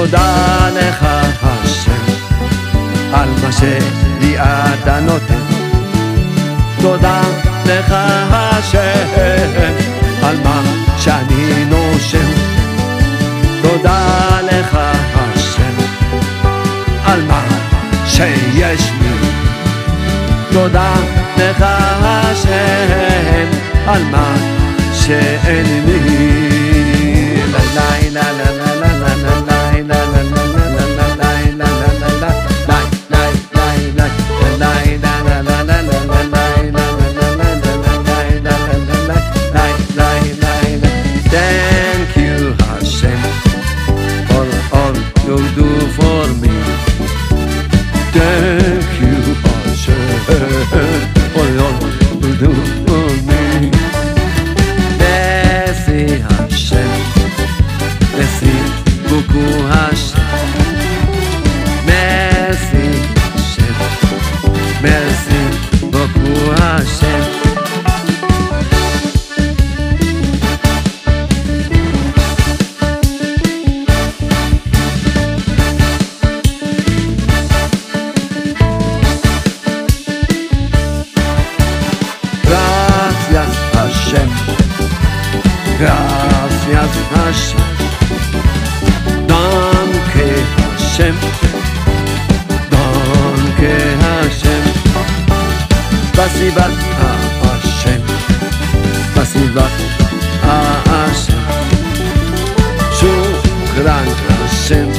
תודה לך השם על מה שלי אתה נותן. תודה לך השם על מה שאני נושם. תודה לך השם על מה שיש לי. תודה לך השם על מה שאין לי. Thank you Hashem for all you do for me. Thank you Hashem for all you do for me. Merci Hashem, merci beaucoup Hashem. Merci Hashem, merci beaucoup Hashem. Gracias Hashem, danke Hashem, danke Hashem. Spasiba Hashem, spasiba Hashem. Shukran Hashem,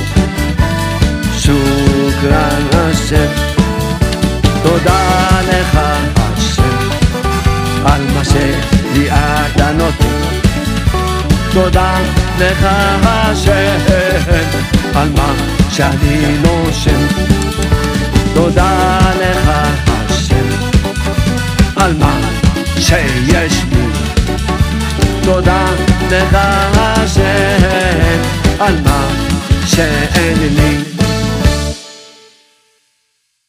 shukran Hashem. תודה לך השם על מה שלי אתה נותן. תודה לך השם על מה שאני נושם. תודה לך השם על מה שיש לי. תודה לך השם על מה שאין לי.